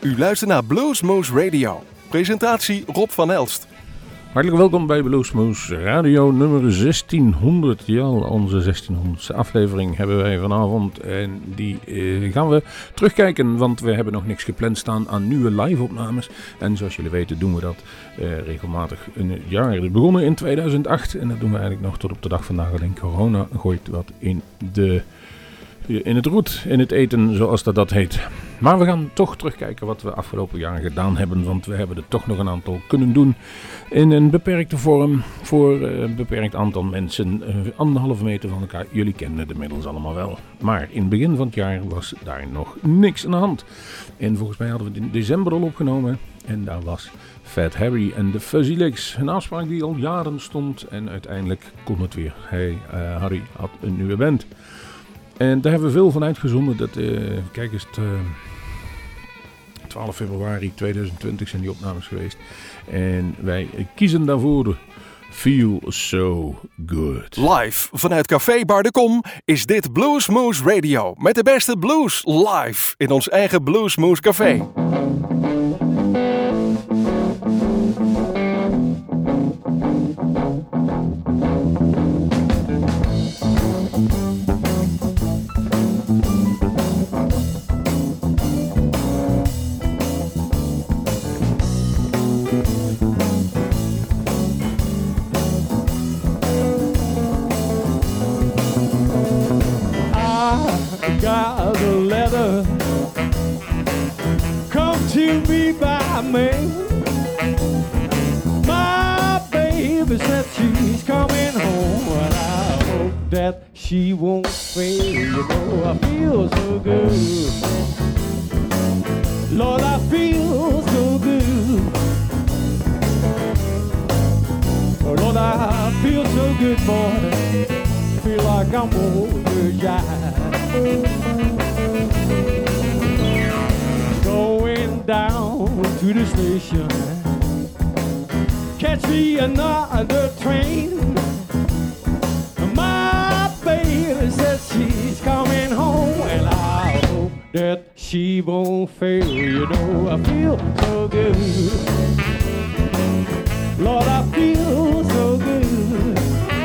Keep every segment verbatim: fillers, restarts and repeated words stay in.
U luistert naar Bluesmoose Radio. Presentatie Rob van Elst. Hartelijk welkom bij Bluesmoose Radio nummer zestienhonderd. Ja, onze zestienhonderdste aflevering hebben wij vanavond. En die eh, gaan we terugkijken, want we hebben nog niks gepland staan aan nieuwe live-opnames. En zoals jullie weten doen we dat eh, regelmatig in het jaar. Het is begonnen in tweeduizend acht en dat doen we eigenlijk nog tot op de dag vandaag. Alleen corona gooit wat in de... in het roet, in het eten, zoals dat, dat heet. Maar we gaan toch terugkijken wat we afgelopen jaar gedaan hebben, want we hebben er toch nog een aantal kunnen doen in een beperkte vorm voor een beperkt aantal mensen, anderhalve meter van elkaar. Jullie kennen het inmiddels allemaal wel. Maar in het begin van het jaar was daar nog niks aan de hand. En volgens mij hadden we het in december al opgenomen en daar was Fat Harry en de Fuzzy Licks. Een afspraak die al jaren stond en uiteindelijk kon het weer. Hey, uh, Harry had een nieuwe band. En daar hebben we veel van uitgezonden. Dat, uh, kijk eens, uh, twaalf februari tweeduizend twintig zijn die opnames geweest. En wij kiezen daarvoor Feel So Good. Live vanuit Café Bar de Kom is dit Bluesmoose Radio. Met de beste blues live in ons eigen Bluesmoose Café. Got a letter come to me by mail. My baby said she's coming home, and I hope that she won't fail. You know I feel so good, Lord, I feel so good. Oh, Lord, I feel so good, boy. Feel like I'm over jive. Going down to the station, catch me another train. My baby says she's coming home, and I hope that she won't fail. You know I feel so good, Lord, I feel so good.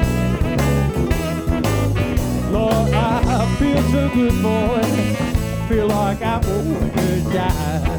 Lord, I feel so good, boy. Feel like I won't die.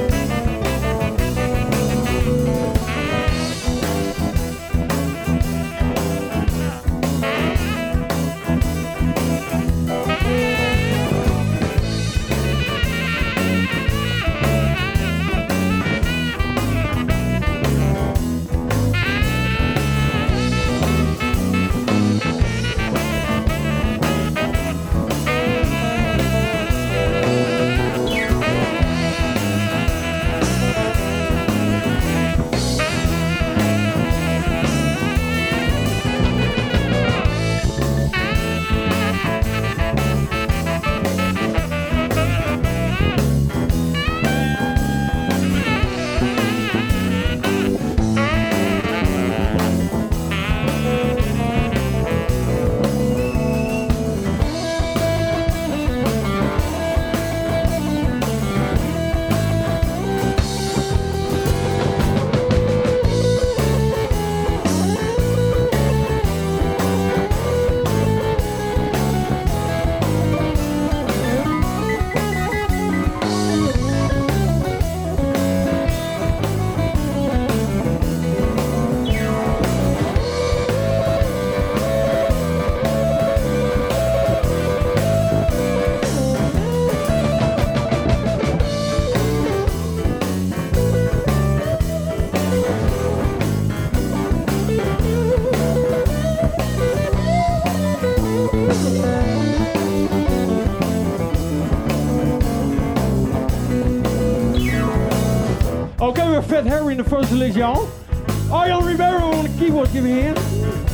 Okay, we're Fat Harry in the first list, y'all. Ariel Rivera on the keyboard, give me a hand.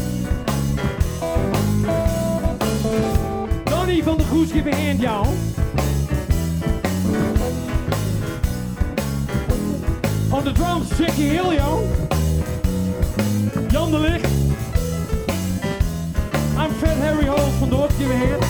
Donnie van der Goes, give me a hand, y'all. On the drums, Jackie Hill, y'all. Jan de Ligt. I'm Fat Harry Holt van Dorp, give me a hand.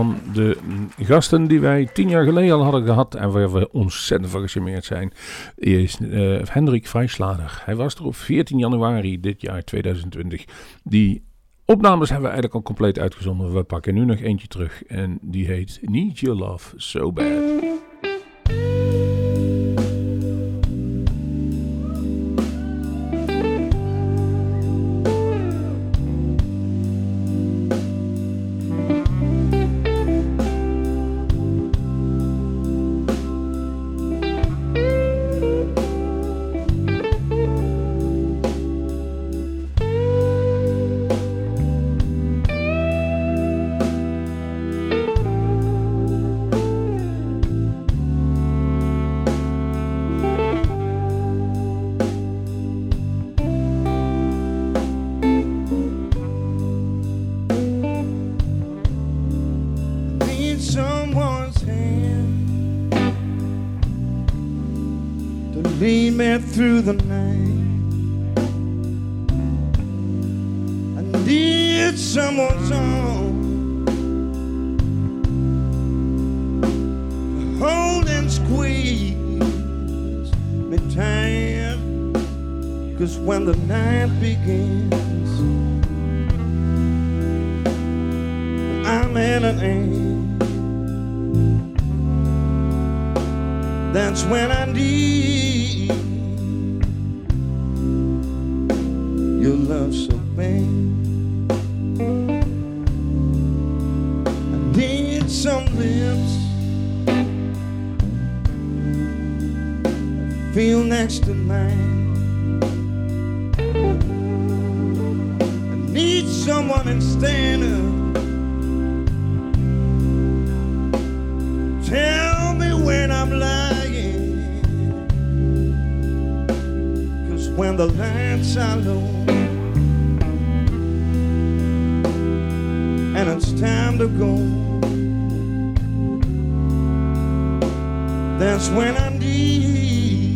van de gasten die wij tien jaar geleden al hadden gehad en waar we ontzettend van gecharmeerd zijn, is uh, Hendrik Vrijslader. Hij was er op veertien januari dit jaar tweeduizend twintig. Die opnames hebben we eigenlijk al compleet uitgezonden. We pakken nu nog eentje terug en die heet Need Your Love So Bad. Lead me through the night. I need someone's arm to hold and squeeze me tight. 'Cause when the night begins, I'm in an end. That's when I need your love so bad. I need some lips that feel next to mine. I need someone and stand up. Tell me when I'm lying, 'cause when the lights are low and it's time to go, that's when I need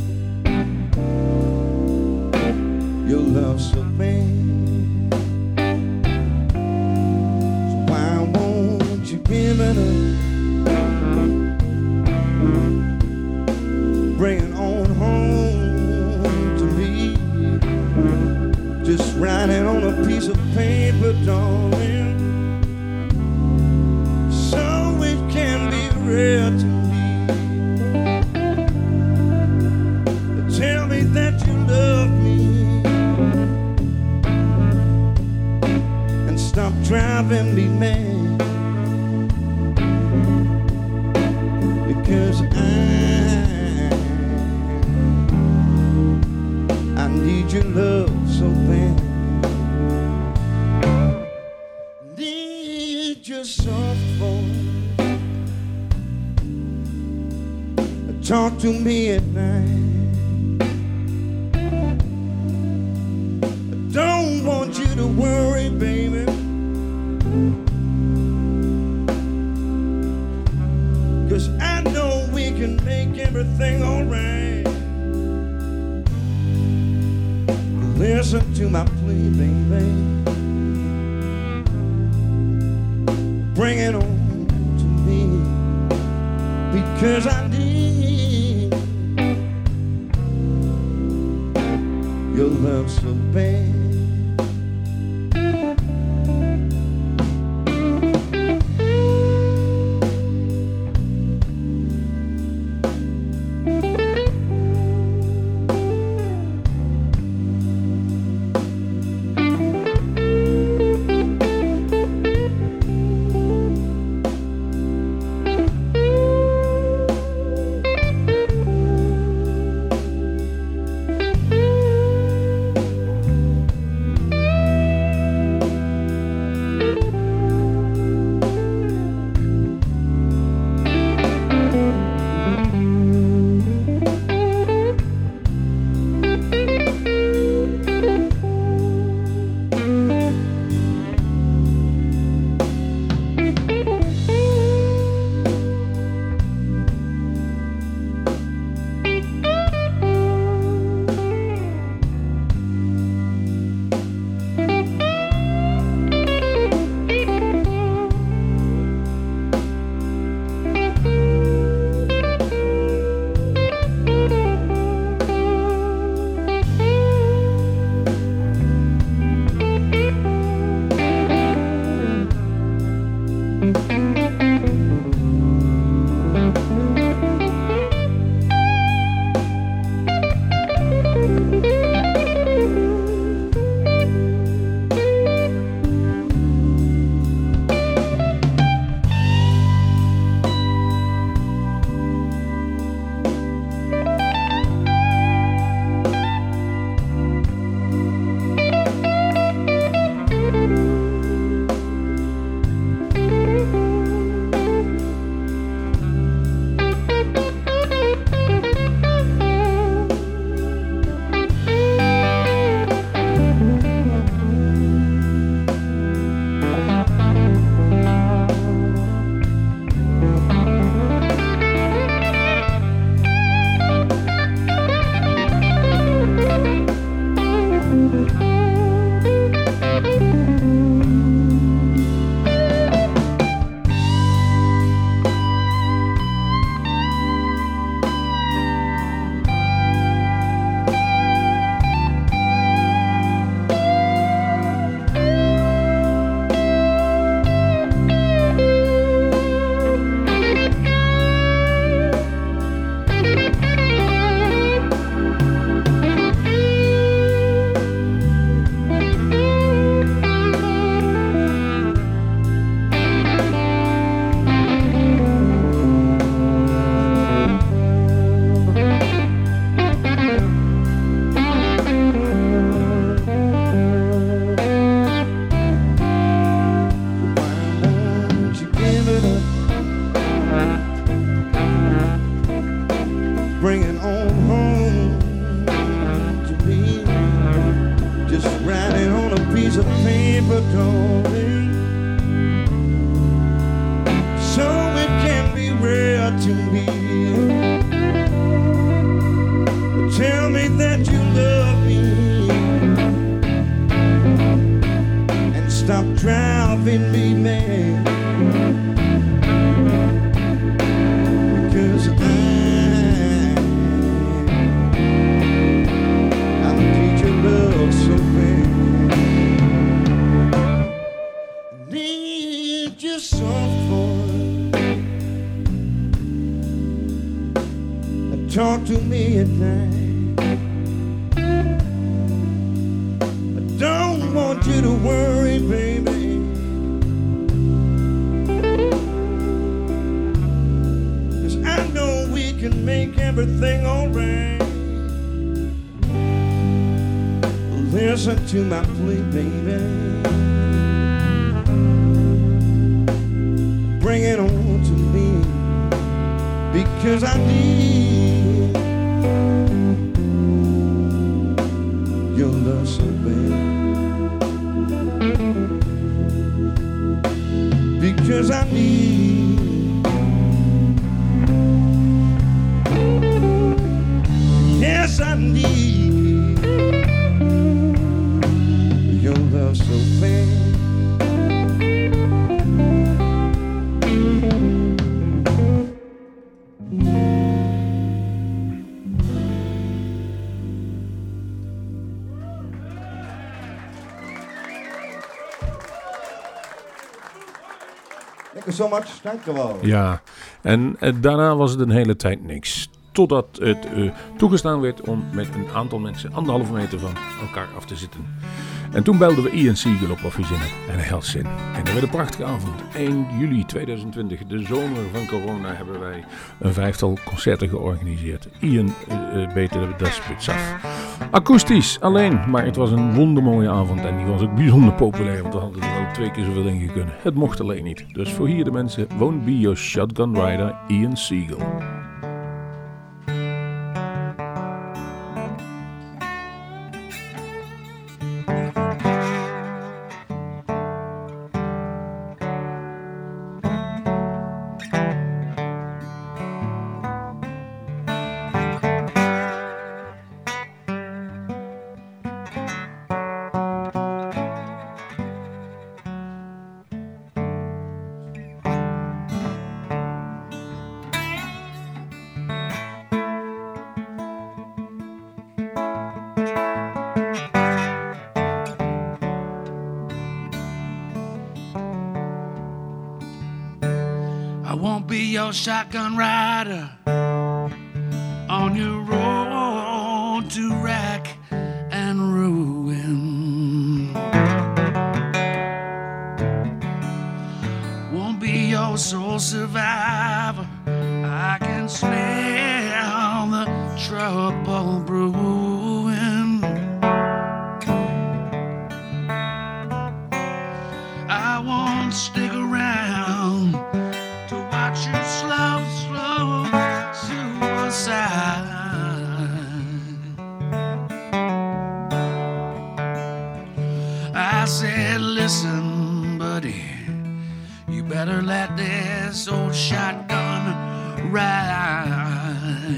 your love so bad. So why won't you give it up? Bring it on home to me. Just write it on a piece of paper, darling, so it can be read to me. Tell me that you love me and stop driving me mad, because I I need your love so bad. Need your soft voice. Talk to me at night. I don't want you to worry, baby, 'cause I know we can make everything alright. Listen to my plea, baby. Bring it on to me, because I need your love so bad. paper, darling, so it can be read to me. Tell me that you love me and stop driving me mad, because I I need your love so bad. I need your soft voice. Talk to me at night. Don't want you to worry, baby, 'cause I know we can make everything alright. Listen to my plea, baby. Bring it on to me, because I need your love so bad. Because I need, yes, I need your love so bad. Thank you so much. Dank je wel. Ja, en eh, daarna was het een hele tijd niks. Totdat het uh, toegestaan werd om met een aantal mensen anderhalve meter van elkaar af te zitten. En toen belden we Ian Siegel op of hij zin had. En hij had zin. En dat werd een prachtige avond. één juli tweeduizend twintig, de zomer van corona, hebben wij een vijftal concerten georganiseerd. Ian uh, beter de spits af. Akoestisch, alleen. Maar het was een wondermooie avond. En die was ook bijzonder populair. Want we hadden er wel twee keer zoveel in gekund. Het mocht alleen niet. Dus voor hier de mensen. Won't Be Your Shotgun Rider, Ian Siegel. Shotgun rider on your road to wreck and ruin. Won't be your sole survivor. I can smell the trouble brewing. I won't stick around to watch you slow, slow suicide. I said, listen, buddy, you better let this old shotgun ride.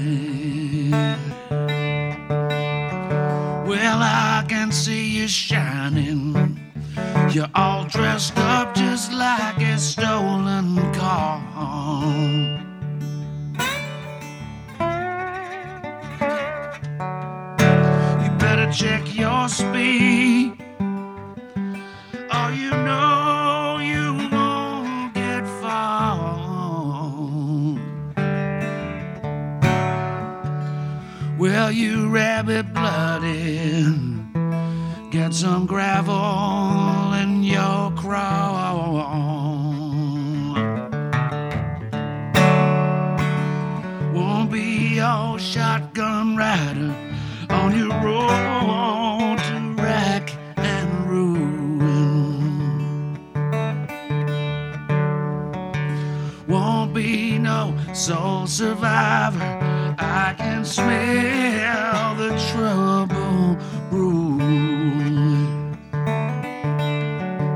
Well, I can see you shining. You're all dressed up just like a stolen car. You better check your speed, or you know you won't get far. Well, you rabbit-blooded, get some gravel in your craw. Won't be your shotgun rider on your road to wreck and ruin. Won't be no sole survivor. I can smell the trouble brewing.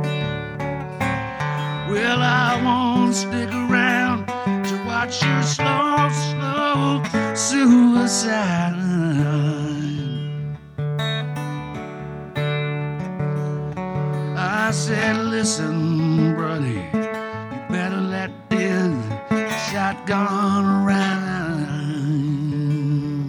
I said, listen, buddy, you better let this shotgun rhyme.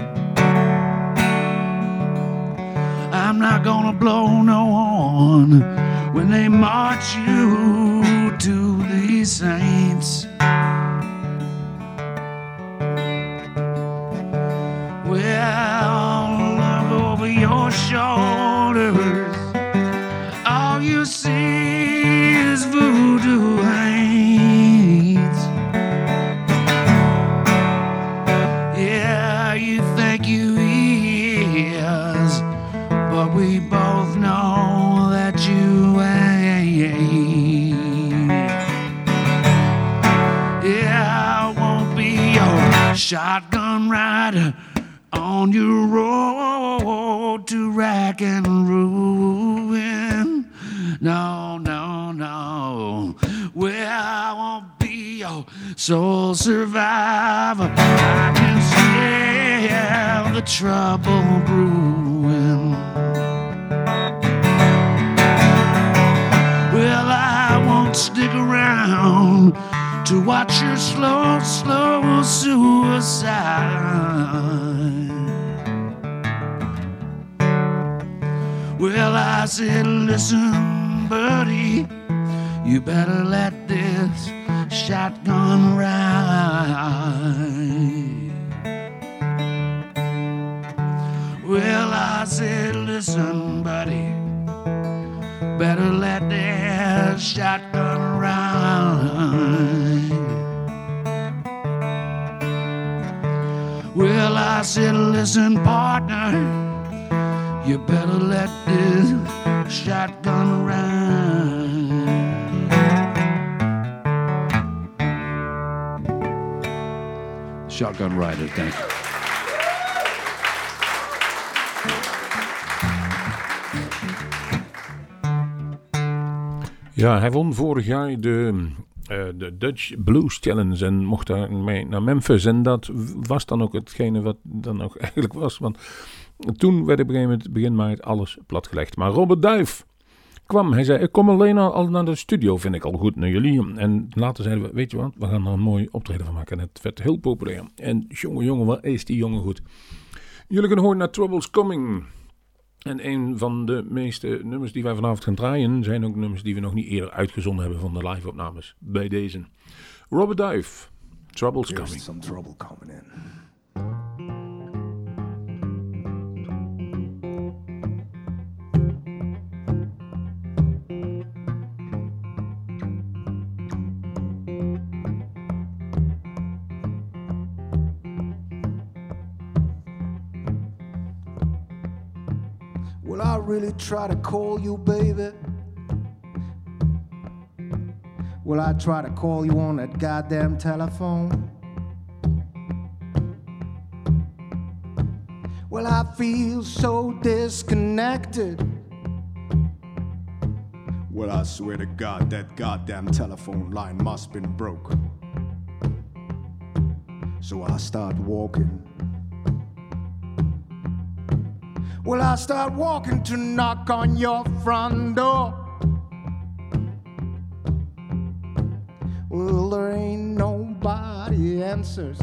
I'm not gonna blow no horn when they march you to the saints. Well, look over your shoulders. All you see is voodoo hands. Yeah, you think you is, but we both know that you ain't. Yeah, I won't be your shotgun rider on your road to rack and ruin. No, no, no. Well, I won't be your sole survivor. I can smell the trouble brewing. Well, I won't stick around to watch your slow, slow suicide. Well, I said, listen, buddy, you better let this shotgun ride. Well, I said, listen, buddy, better let this shotgun ride. Well, I said, listen, partner, you better let this shotgun ride. Shotgun Riders, thank you. Ja, hij won vorig jaar de, uh, de Dutch Blues Challenge en mocht daarmee naar Memphis. En dat was dan ook hetgene wat dan ook eigenlijk was. Want toen werd op een gegeven moment begin maart alles platgelegd. Maar Robert Duif kwam. Hij zei, ik kom alleen al, al naar de studio, vind ik al goed naar jullie. En later zeiden we, weet je wat, we gaan er een mooi optreden van maken. En het werd heel populair. En jongen, jongen, wat is die jongen goed. Jullie kunnen horen naar Troubles Coming. En een van de meeste nummers die wij vanavond gaan draaien zijn ook nummers die we nog niet eerder uitgezonden hebben van de live-opnames. Bij deze. Robert Duif, Troubles Coming. There's some trouble coming in. Will I really try to call you, baby? Will I try to call you on that goddamn telephone? Well, I feel so disconnected. Well, I swear to God, that goddamn telephone line must been broke. So I start walking. Well, I start walking to knock on your front door. Well, there ain't nobody answers.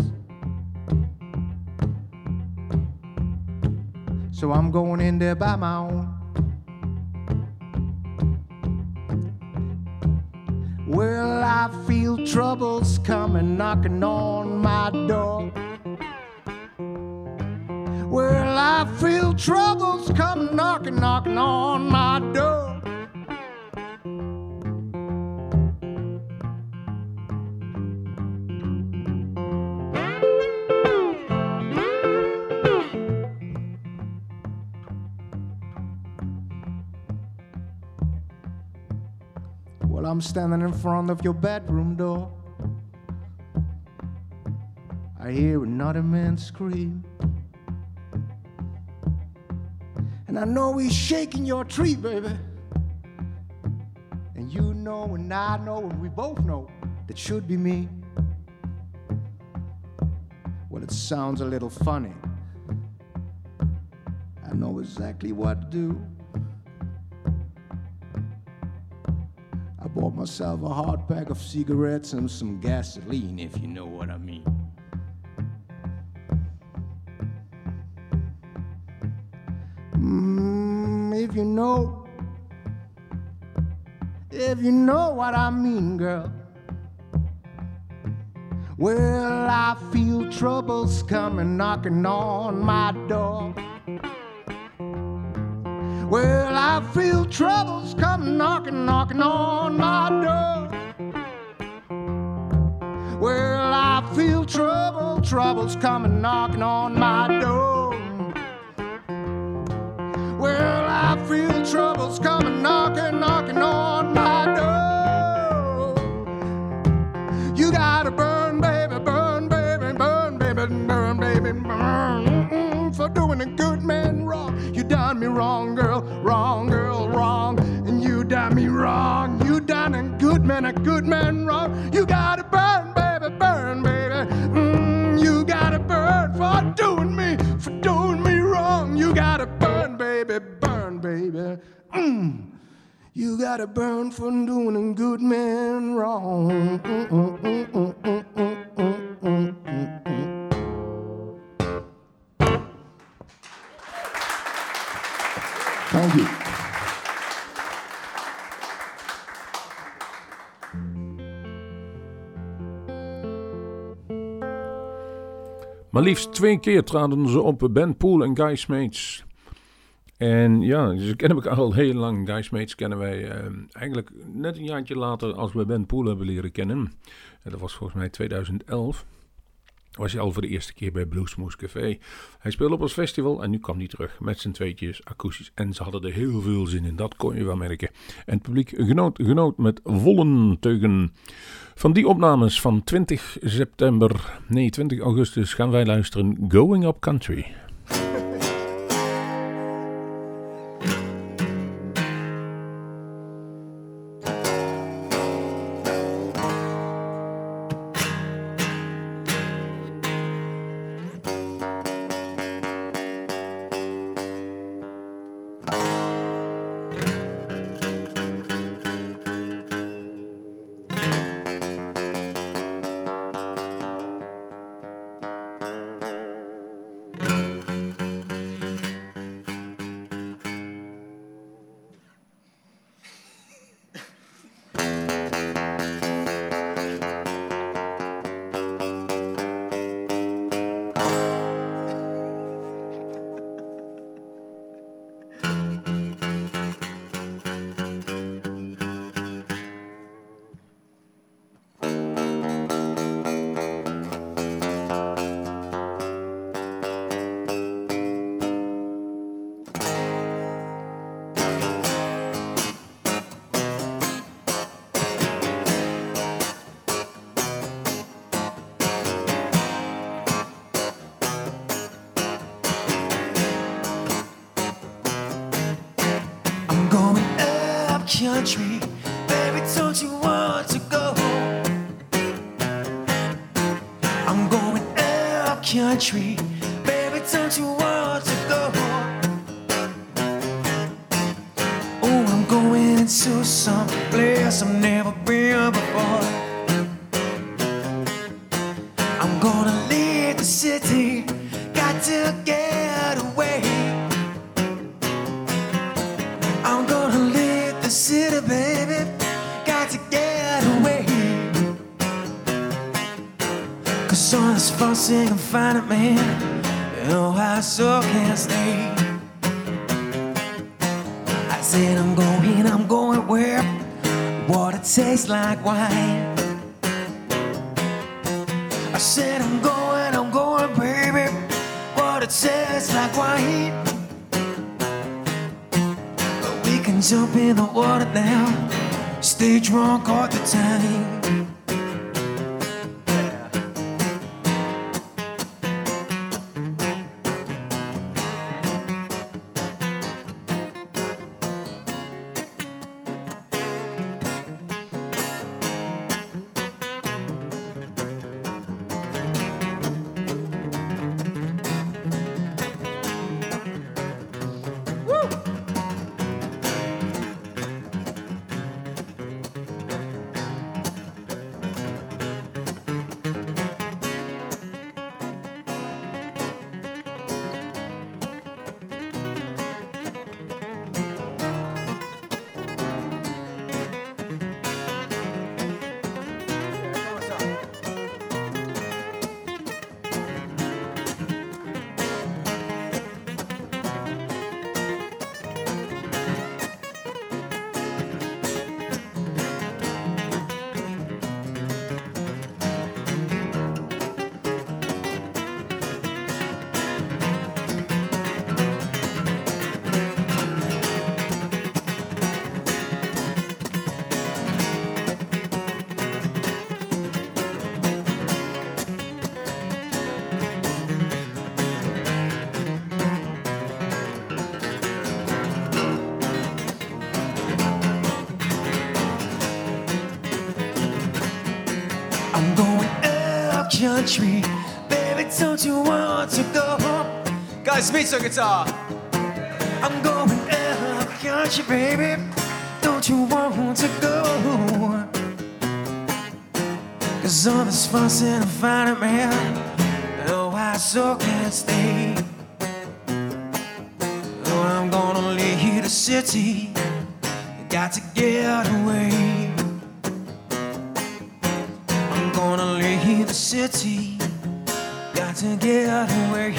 So I'm going in there by my own. Well, I feel troubles coming, knocking on my door. Well, I feel troubles come knocking, knocking on my door. Well, I'm standing in front of your bedroom door. I hear another man scream. And I know he's shaking your tree, baby. And you know and I know and we both know that should be me. Well, it sounds a little funny. I know exactly what to do. bought myself a hard pack of cigarettes and some gasoline, if you know what I mean. Mm, if you know, if you know what I mean, girl. Well, I feel troubles coming knocking on my door. Well, I feel troubles coming knocking, knocking on my door. Well, I feel trouble, troubles coming knocking on my door. Well, I feel troubles coming knocking, knocking on my door. You gotta burn, baby, burn, baby, burn, baby, burn, baby, burn. Mm-mm, for doing a good man wrong. You done me wrong, girl, wrong, girl, wrong. And you done me wrong. You done a good man, a good man wrong. You gotta burn, baby, burn, baby. Mm, you gotta burn for doing me, for doing me wrong. You gotta burn, baby, burn, baby. Mm. You gotta burn for doing a good man wrong. Mm, mm, mm, mm, mm, mm, mm, mm, mm. Thank you. Maar liefst twee keer traden ze op, Ben Poole en Guy Smeets. En ja, ze kennen elkaar al heel lang. Guy Smeets kennen wij eh, eigenlijk net een jaartje later als we Ben Poole hebben leren kennen. En dat was volgens mij tweeduizend elf. Was hij al voor de eerste keer bij Bluesmoose Café. Hij speelde op ons festival en nu kwam hij terug met zijn tweetjes akoestisch. En ze hadden er heel veel zin in, dat kon je wel merken. En het publiek genoot, genoot met volle teugen. Van die opnames van twintig september, nee twintig augustus gaan wij luisteren Going Up Country. Country, baby, don't you want to go? I'm going up country, baby, don't you want to go? Oh, I'm going into some place I've never been before. I'm gonna leave the city, got to get away. I'm gonna leave the city, baby, got to get away. Cause all this fussing and finding, man, oh, I so can't stay. I said I'm going, I'm going where water tastes like wine. I said I'm going, I'm going, baby, water tastes like wine. Jump in the water now, stay drunk all the time. country. Baby, don't you want to go home? Guys, Smith's on guitar. I'm going up country, baby. Don't you want to go? Cause all this fuss and finding man, oh, I so can't stay. Oh, I'm gonna leave the city. Got to get away. I'm gonna leave the city. Got to get away.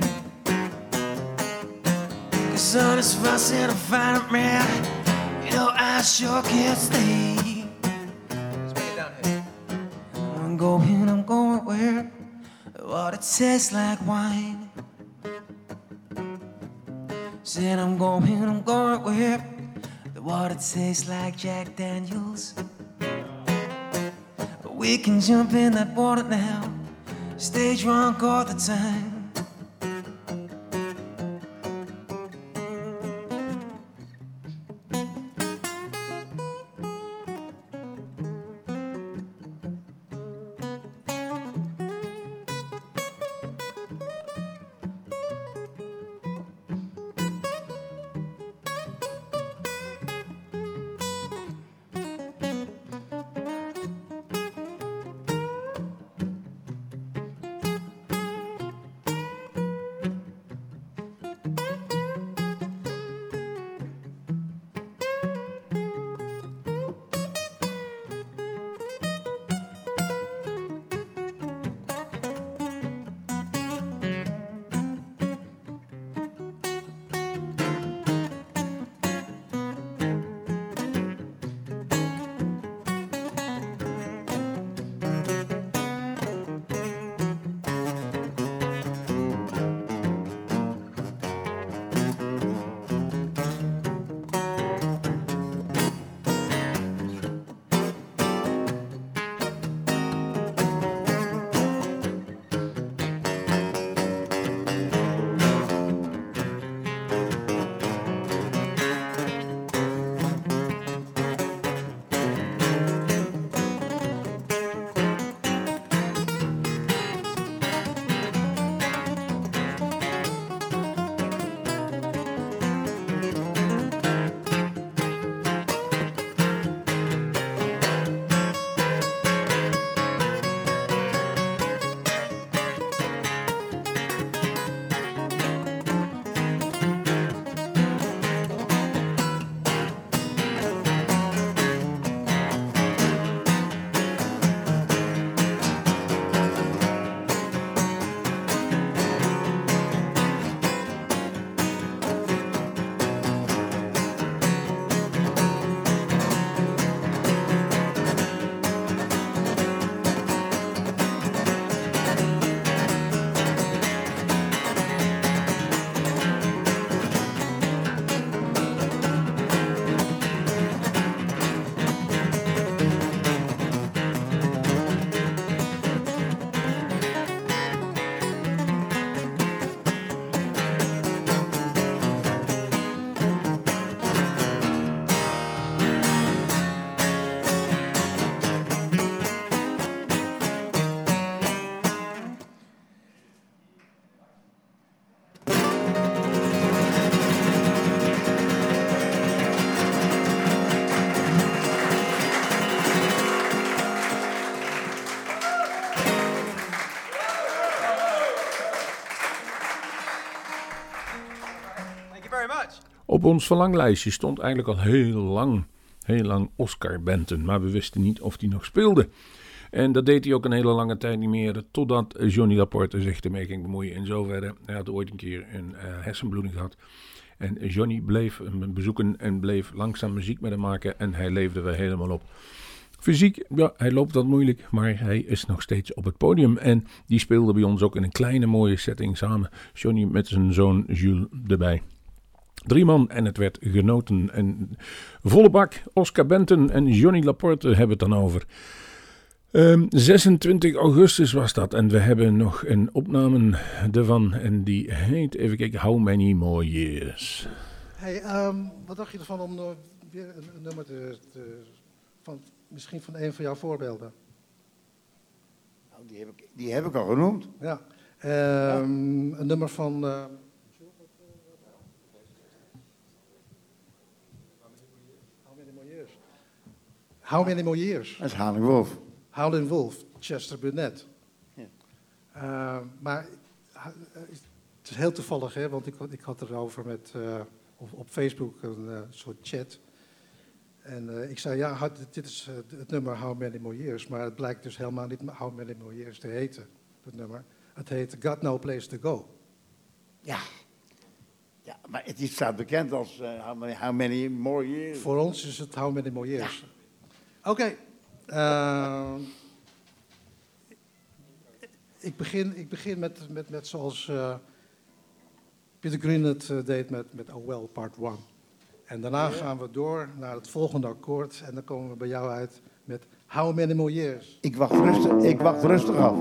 Cause all this fuss and finding man, you know I sure can't stay. Let's bring it down here. I'm going, I'm going where the water tastes like wine. Said I'm going, I'm going where the water tastes like Jack Daniels. But we can jump in that water now, stay drunk all the time. Op ons verlanglijstje stond eigenlijk al heel lang, heel lang Oscar Benton. Maar we wisten niet of hij nog speelde. En dat deed hij ook een hele lange tijd niet meer. Totdat Johnny Laporte zich ermee ging bemoeien. En zo verder. Hij had ooit een keer een uh, hersenbloeding gehad. En Johnny bleef hem bezoeken en bleef langzaam muziek met hem maken. En hij leefde weer helemaal op. Fysiek, ja, hij loopt wat moeilijk, maar hij is nog steeds op het podium. En die speelde bij ons ook in een kleine mooie setting samen. Johnny met zijn zoon Jules erbij. Drie man en het werd genoten. En volle bak, Oscar Benton en Johnny Laporte hebben het dan over. Um, zesentwintig augustus was dat en we hebben nog een opname ervan. En die heet, even kijken, How Many More Years. Hey, um, wat dacht je ervan om uh, weer een, een nummer te, te, van, misschien van een van jouw voorbeelden? Nou, die heb ik, die heb ik al genoemd. Ja. Um, ja. Een nummer van... Uh, How Many More Years? Dat is Howlin' Wolf. Howlin' Wolf, Chester Burnett. Ja. Uh, maar uh, het is heel toevallig, hè, want ik, ik had erover met, uh, op, op Facebook een uh, soort chat. En uh, ik zei, ja, dit is uh, het nummer How Many More Years. Maar het blijkt dus helemaal niet How Many More Years te heten, dat nummer. Het heet Got No Place To Go. Ja. Ja, maar het is staat bekend als uh, how, many, how Many More Years. Voor ons is het How Many More Years. Ja. Oké. Okay. Uh, ik, begin, ik begin met, met, met zoals uh, Peter Green het uh, deed met, met Oh Well Part one. En daarna ja. gaan we door naar het volgende akkoord. En dan komen we bij jou uit met How Many More Years. Ik wacht rustig, ik wacht rustig af.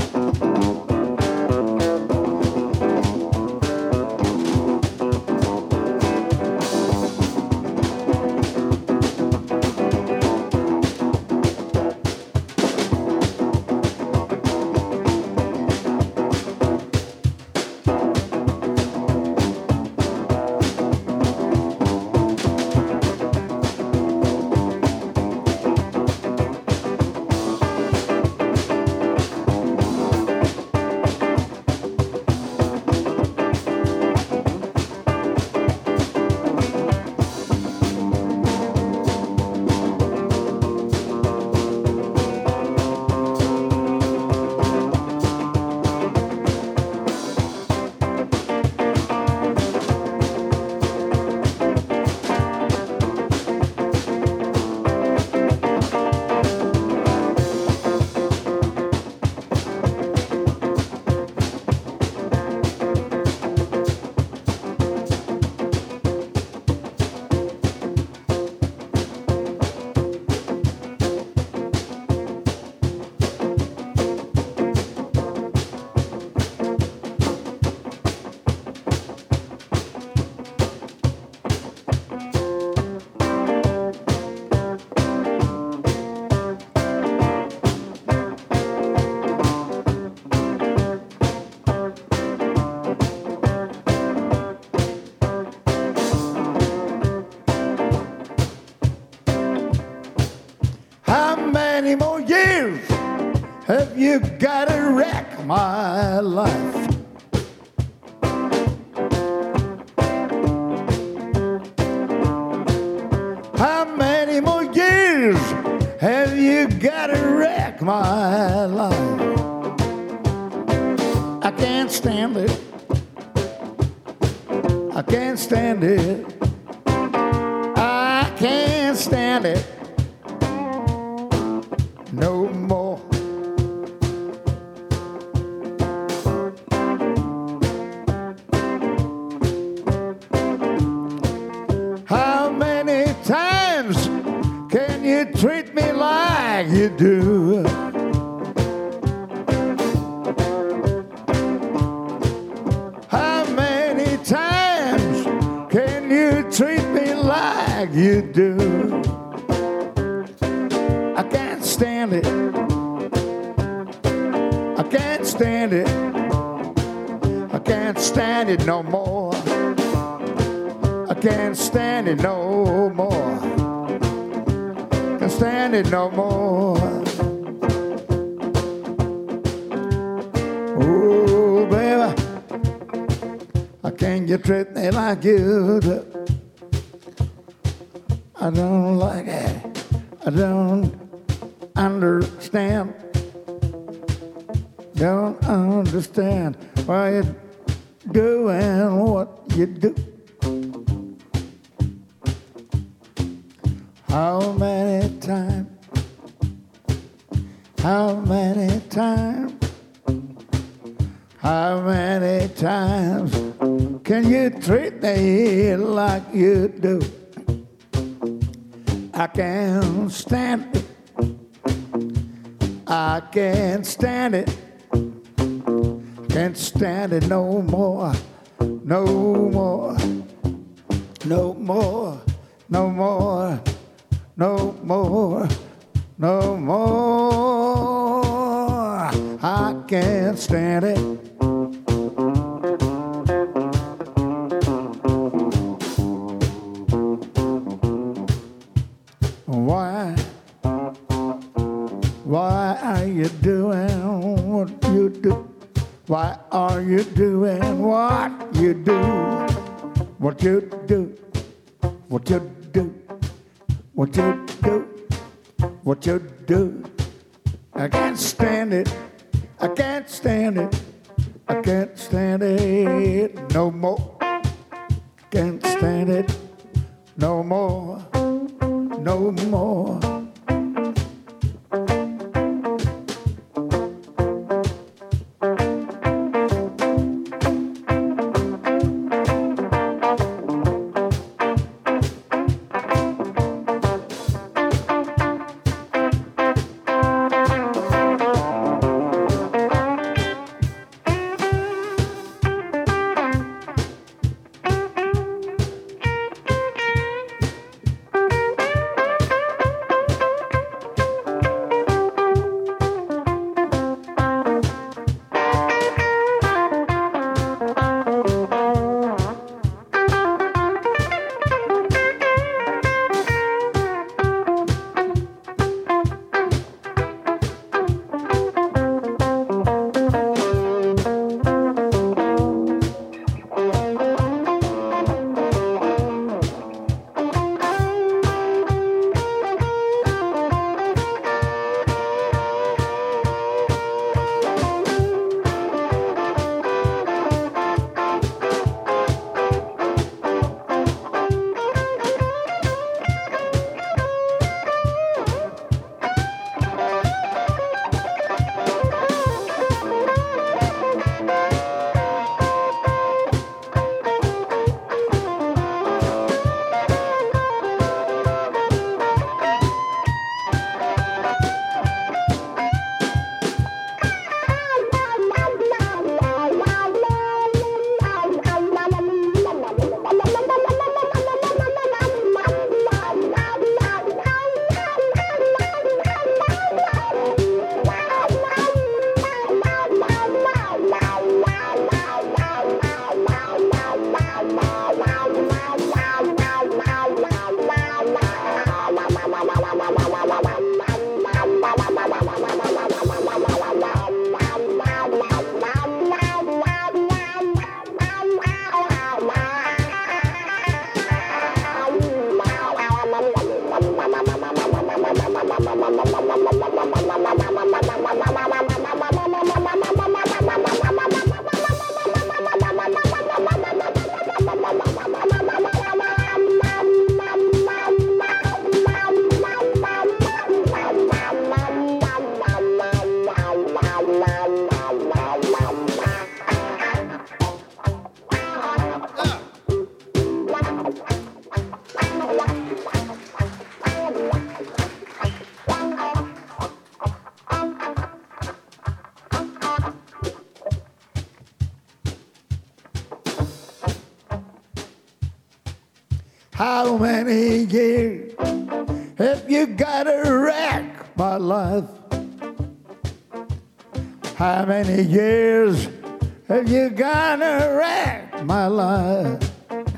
You gotta wreck my life. How many more years have you gotta wreck my life? I can't stand it. I can't stand it. I can't stand it no more. Treat me like you do. How many times can you treat me like you do? I can't stand it. I can't stand it. I can't stand it no more. I can't stand it no more. Stand it no more. Oh, baby, how can you treat me like you do? I don't like it. I don't understand. Don't understand why you're doing what you do. How many times, how many times, how many times can you treat me like you do? I can't stand it. I can't stand it. Can't stand it no more, no more, no more, no more. No more, no more. I can't stand it. Why? Why are you doing what you do? Why are you doing what you do? What you do? What you do? What you do? What you do? I can't stand it. I can't stand it. I can't stand it no more. Can't stand it no more. No more. How many years have you got to wreck my life? How many years have you got to wreck my life?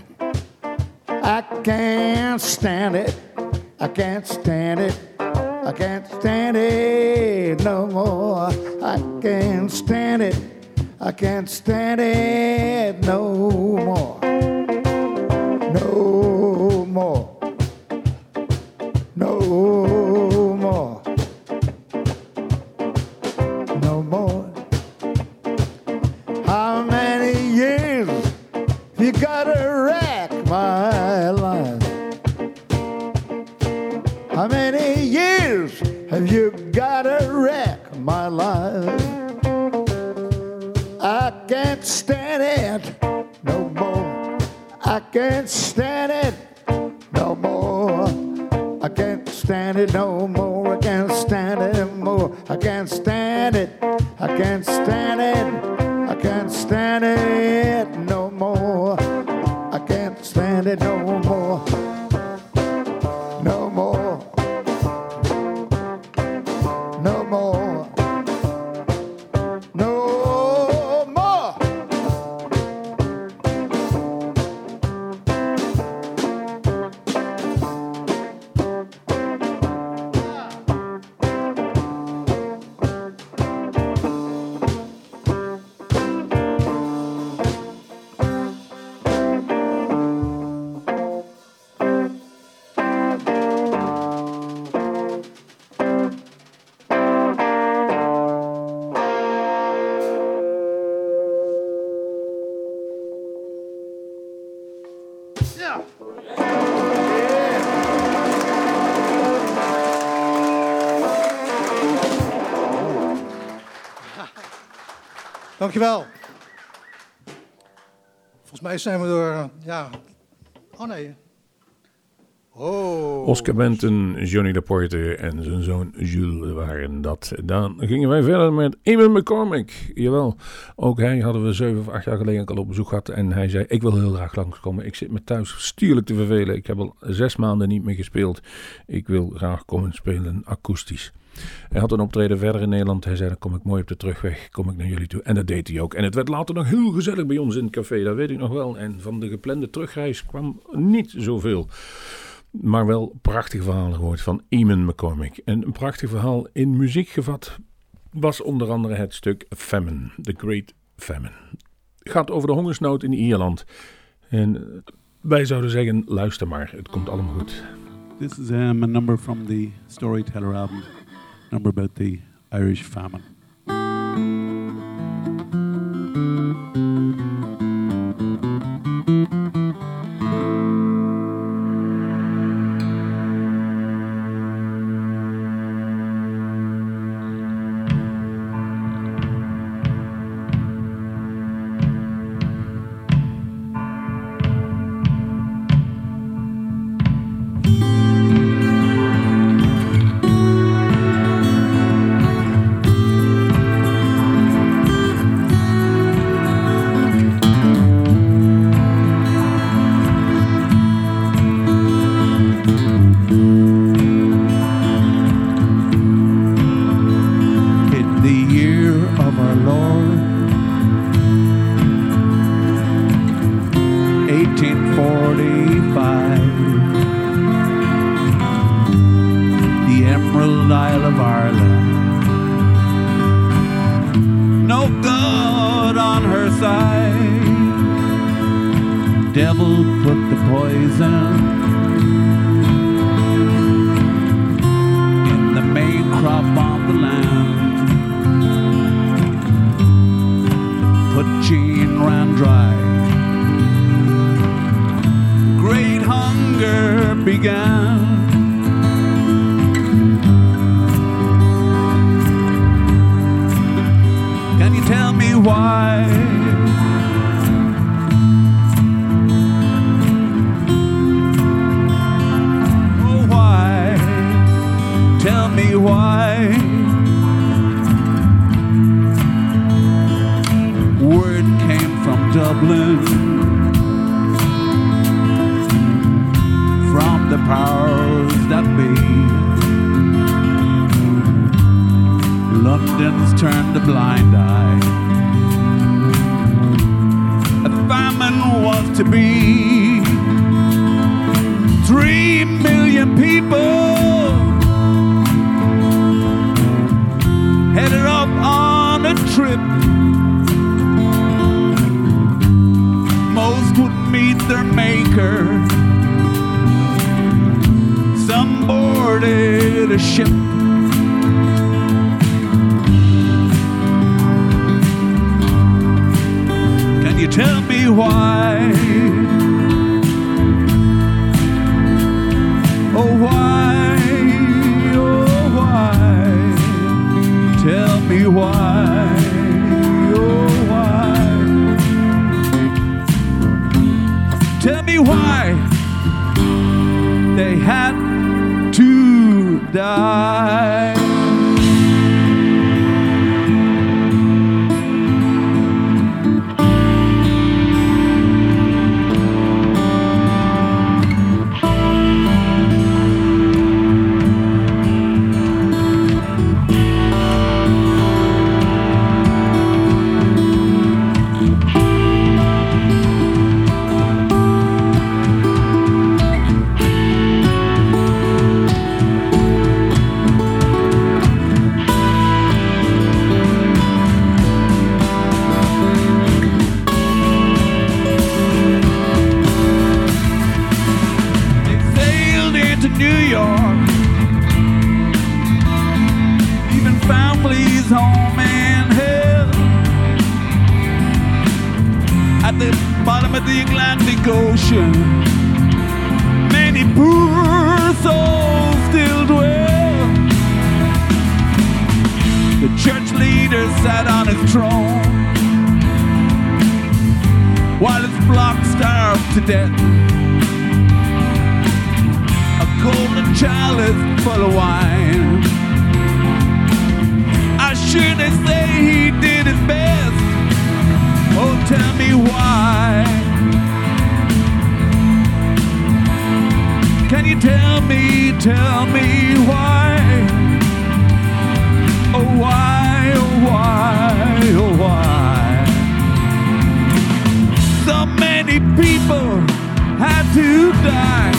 I can't stand it. I can't stand it. I can't stand it no more. I can't stand it. I can't stand it no more. No more. No more. No more. How many years you gotta wreck my life? How many years have you gotta wreck my life? I can't stand it no more. I can't stand it no more. I can't stand it no more. I can't stand it no more. I can't stand it. I can't stand it. I can't stand it no more. I can't stand it no more. No more. No more. Dankjewel. Volgens mij zijn we door, uh, ja... Oh nee. Oh. Oscar Benton, Johnny Laporte en zijn zoon Jules waren dat. Dan gingen wij verder met Eamon McCormick. Jawel, ook hij hadden we zeven of acht jaar geleden al op bezoek gehad. En hij zei, ik wil heel graag langskomen. Ik zit me thuis stierlijk te vervelen. Ik heb al zes maanden niet meer gespeeld. Ik wil graag komen spelen akoestisch. Hij had een optreden verder in Nederland. Hij zei, dan kom ik mooi op de terugweg, kom ik naar jullie toe. En dat deed hij ook. En het werd later nog heel gezellig bij ons in het café, dat weet ik nog wel. En van de geplande terugreis kwam niet zoveel. Maar wel prachtige verhalen gehoord van Eamon McCormick. En een prachtig verhaal in muziek gevat was onder andere het stuk Famine, The Great Famine. Het gaat over de hongersnood in Ierland. En wij zouden zeggen, luister maar, het komt allemaal goed. This is um, a number from the Storyteller album, number about the Irish famine. Church leader sat on his throne. flock starved to death. A golden chalice full of wine. I sure they say he did his best. Oh, tell me why. Can you tell me, tell me why? Oh, why, oh, why, oh, why? So many people had to die.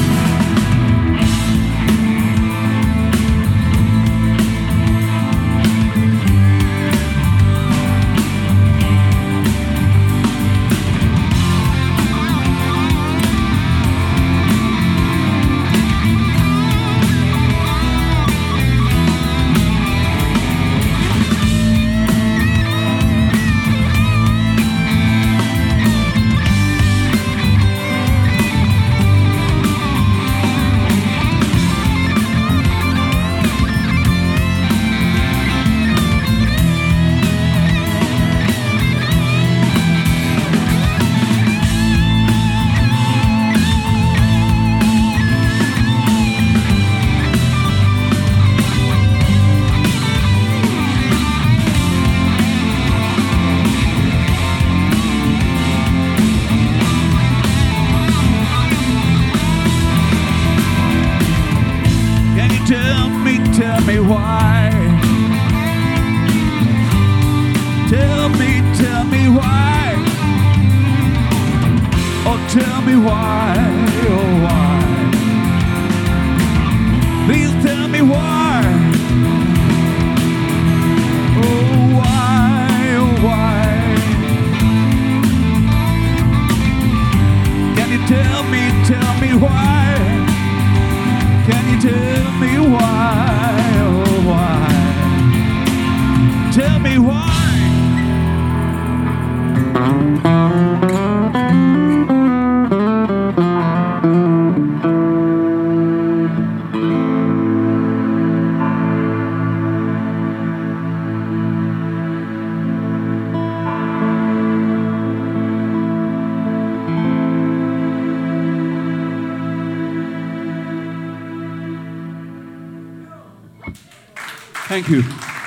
Thank you.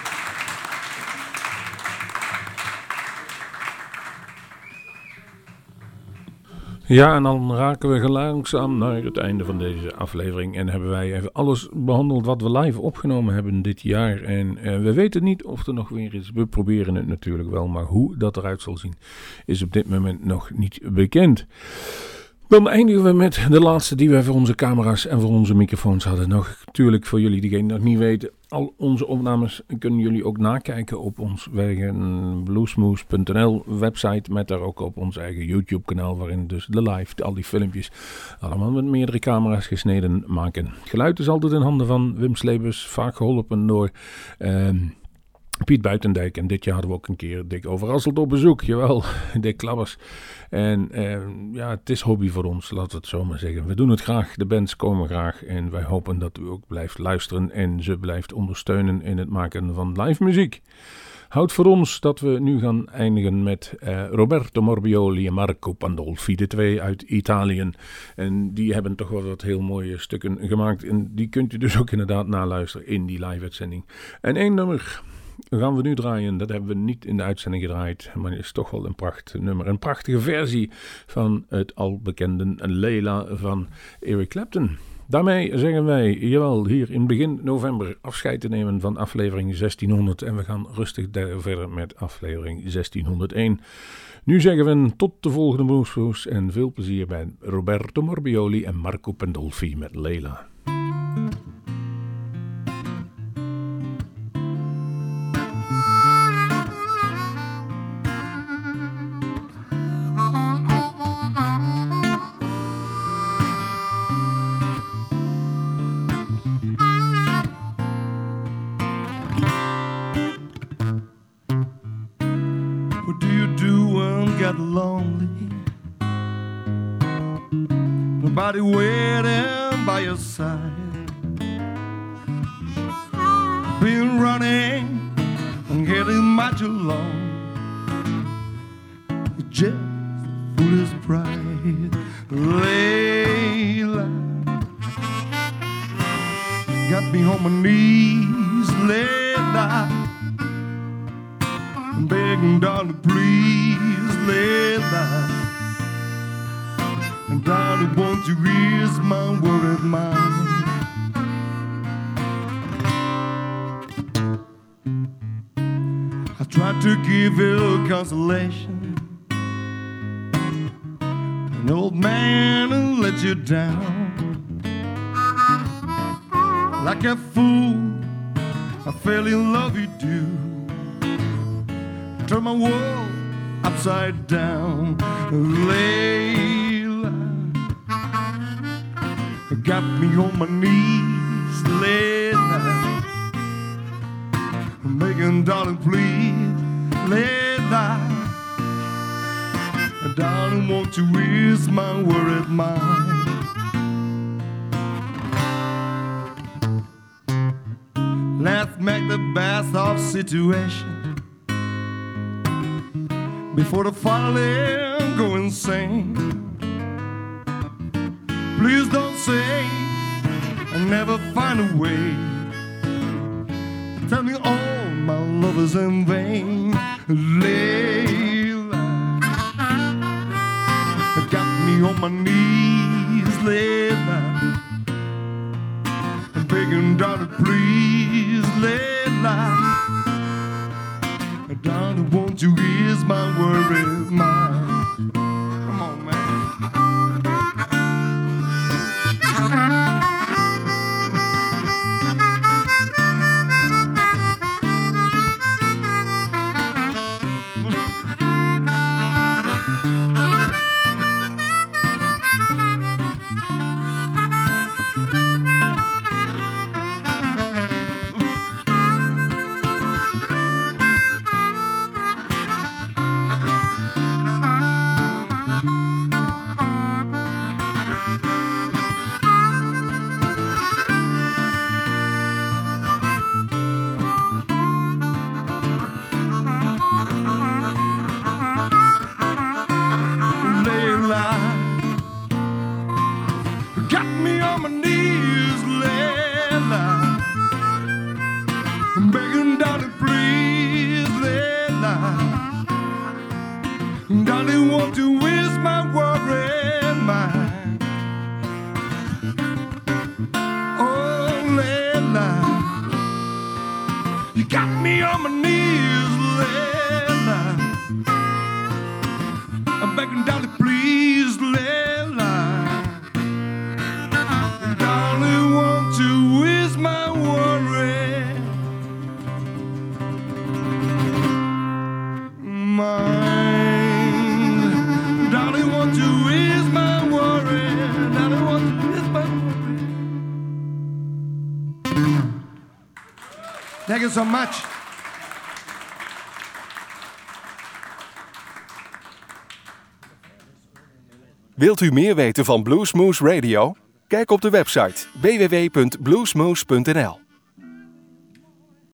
Ja, en dan raken we langzaam naar het einde van deze aflevering. En hebben wij even alles behandeld wat we live opgenomen hebben dit jaar. En uh, we weten niet of er nog weer is. We proberen het natuurlijk wel, maar hoe dat eruit zal zien is op dit moment nog niet bekend. Dan eindigen we met de laatste die we voor onze camera's en voor onze microfoons hadden. Nog natuurlijk voor jullie die nog niet weten. Al onze opnames kunnen jullie ook nakijken op ons eigen bluesmoose punt n l website. Met daar ook op ons eigen YouTube kanaal waarin dus de live, al die filmpjes allemaal met meerdere camera's gesneden maken. Het geluid is altijd in handen van Wim Slebers, vaak geholpen door Uh, Piet Buitendijk. En dit jaar hadden we ook een keer Dick Overasselt op bezoek. Jawel, Dick Klabbers. En eh, ja, het is hobby voor ons, laten we het zo maar zeggen. We doen het graag, de bands komen graag. En wij hopen dat u ook blijft luisteren en ze blijft ondersteunen in het maken van live muziek. Houdt voor ons dat we nu gaan eindigen met uh, Roberto Morbioli en Marco Pandolfi, de twee uit Italië. En die hebben toch wel wat heel mooie stukken gemaakt. En die kunt u dus ook inderdaad naluisteren in die live-uitzending. En één nummer gaan we nu draaien. Dat hebben we niet in de uitzending gedraaid, maar het is toch wel een prachtig nummer. Een prachtige versie van het al bekende Leila van Eric Clapton. Daarmee zeggen wij, jawel, hier in begin november afscheid te nemen van aflevering zestienhonderd. En we gaan rustig verder met aflevering zestienhonderdéén. Nu zeggen we tot de volgende Bluesmoose en veel plezier bij Roberto Morbioli en Marco Pandolfi met Leila. Lonely, nobody waiting by your side, been running and getting much along, just foolish pride. Layla got me on my knees, Layla, begging, darling, please, Layla. And darling, won't you ease my worried mind? I tried to give you consolation, an old man who let you down. Like a fool, I fell in love with you, turned my world upside down. Layla got me on my knees, Layla, begging, darling, please, Layla, darling, won't you ease my worried mind? Let's make the best of situation before the falling go insane. Please don't say I never find a way. Tell me all my love is in vain. Layla got me on my knees, Layla, I'm begging, darling, please, Layla, darling, won't you ease my worried mind? Come on, man. Thank you so much. Wilt u meer weten van Bluesmoose Radio? Kijk op de website w w w punt bluesmoose punt n l.